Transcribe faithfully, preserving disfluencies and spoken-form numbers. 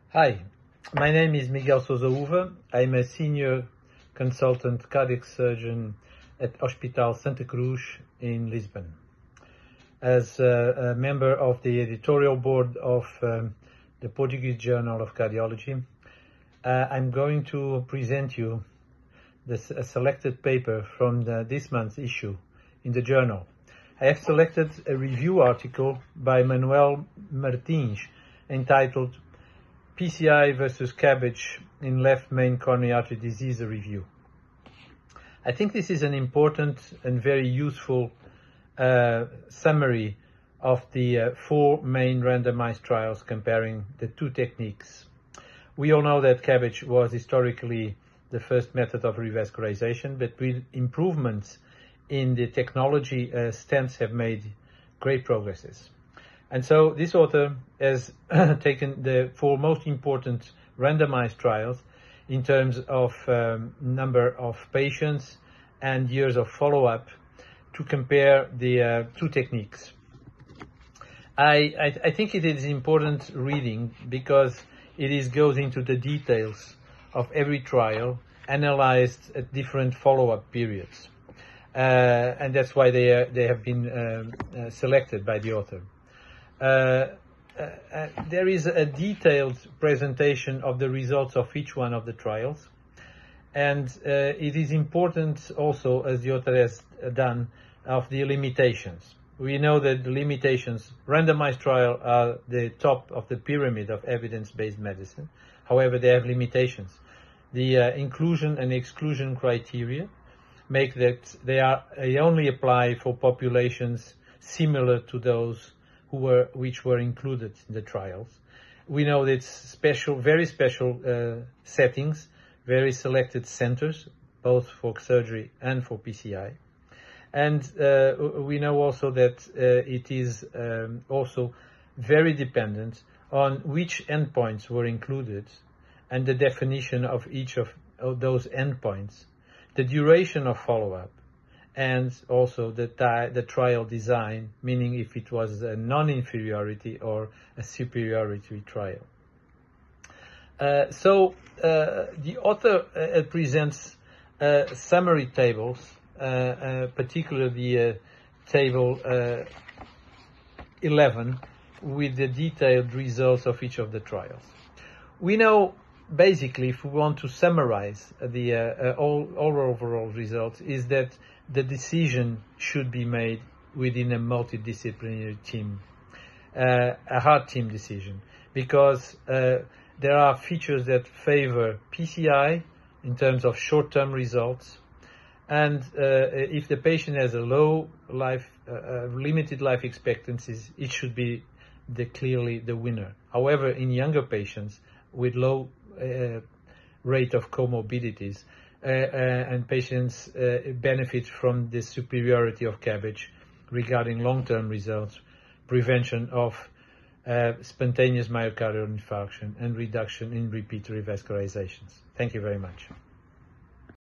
Hi, my name is Miguel Sousa Uva. I'm a senior consultant cardiac surgeon at Hospital Santa Cruz in Lisbon. As a, a member of the editorial board of um, the Portuguese Journal of Cardiology, uh, I'm going to present you this, a selected paper from the, this month's issue in the journal. I have selected a review article by Manuel Martins entitled P C I versus CABG in left main coronary artery disease, a review. I think this is an important and very useful uh, summary of the uh, four main randomized trials comparing the two techniques. We all know that CABG was historically the first method of revascularization, but with improvements in the technology, uh, stents have made great progresses. And so this author has taken the four most important randomized trials in terms of um, number of patients and years of follow-up to compare the uh, two techniques. I, I, I think it is important reading because it is, goes into the details of every trial analyzed at different follow-up periods. Uh, and that's why they, uh, they have been um, uh, selected by the author. Uh, uh, uh, there is a detailed presentation of the results of each one of the trials, and uh, it is important also, as the author has done, of the limitations. We know that the limitations, randomized trial are the top of the pyramid of evidence-based medicine. However, they have limitations. The uh, inclusion and exclusion criteria make that they are they only apply for populations similar to those who were which were included in the trials. We know that it's special, very special uh, settings, very selected centers, both for surgery and for P C I. And uh, we know also that uh, it is um, also very dependent on which endpoints were included and the definition of each of, of those endpoints, the duration of follow-up, and also the, the trial design, meaning if it was a non-inferiority or a superiority trial. Uh, so uh, the author uh, presents uh, summary tables, uh, uh, particularly the uh, table uh, eleven, with the detailed results of each of the trials. We know, basically, if we want to summarize the uh, uh, all, all overall results, is that the decision should be made within a multidisciplinary team, uh, a hard team decision, because uh, there are features that favor P C I in terms of short-term results, and uh, if the patient has a low life, uh, uh, limited life expectancies, it should be the clearly the winner. However, in younger patients with low uh, rate of comorbidities, Uh, uh, and patients uh, benefit from the superiority of CABG regarding long-term results, prevention of uh, spontaneous myocardial infarction, and reduction in repeat revascularizations. Thank you very much.